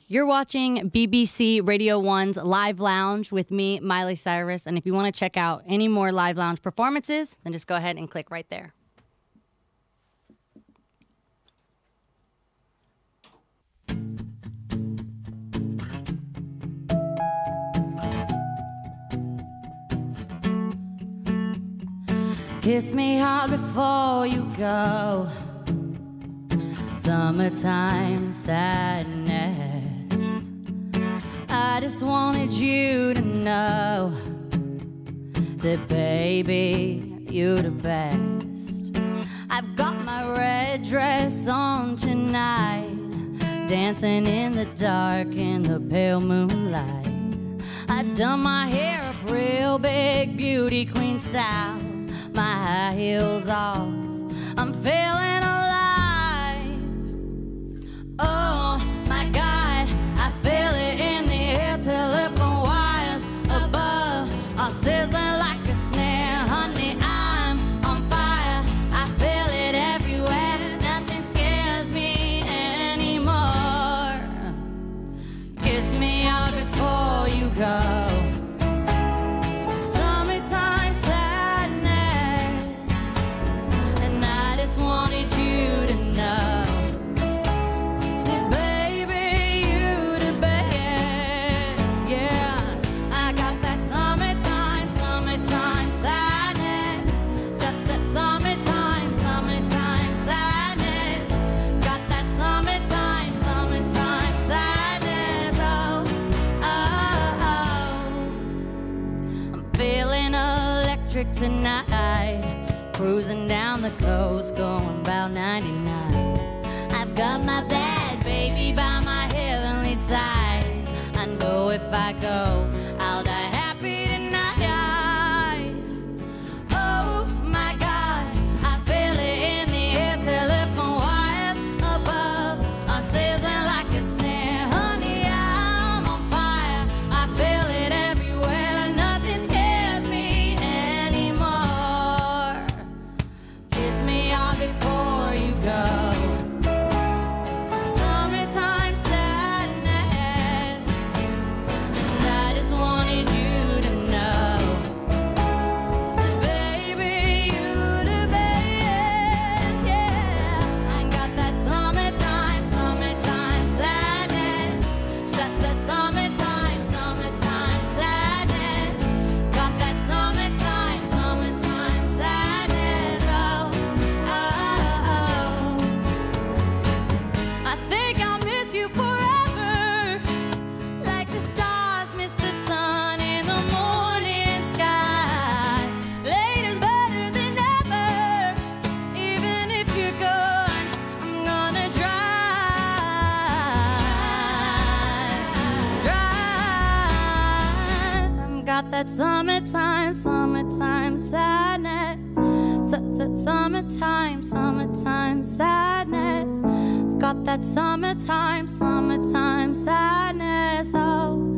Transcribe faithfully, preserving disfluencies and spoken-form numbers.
You're watching B B C Radio one's Live Lounge with me, Miley Cyrus. And if you want to check out any more Live Lounge performances, then just go ahead and click right there. Kiss me hard before you go. Summertime sadness. I just wanted you to know that, baby, you're the best. I've got my red dress on tonight, dancing in the dark in the pale moonlight. I've done my hair up real big, beauty queen style, my high heels off, I'm feeling alive. Oh my God, I feel it in the air, telephone wires above are sizzling like a snare. Honey, I'm on fire, I feel it everywhere, nothing scares me anymore. Kiss me out before you go. Tonight, cruising down the coast, going about ninety-nine. I've got my bad baby by my heavenly side. I know if I go, I'll die happy tonight. Oh my God, I feel it in the air, telephone wires above are sizzling like a snare. Honey, I'm on fire, I feel it everywhere, nothing scares me anymore. Kiss me all before you go. Summertime sadness, and I just wanted you to know that, baby, you the best. Yeah, I got that summertime, summertime sadness. That's that summertime, summertime sadness. Got that summertime, summertime sadness. Oh, oh, oh. I think I'll miss you forever, like the stars miss the sun in the morning sky. Later's better than ever, even if you're gone, I'm gonna drive, drive. I've got that summertime, summertime sadness. Su- su- Summertime, summertime sadness. I've got that summertime, summertime sadness. Oh.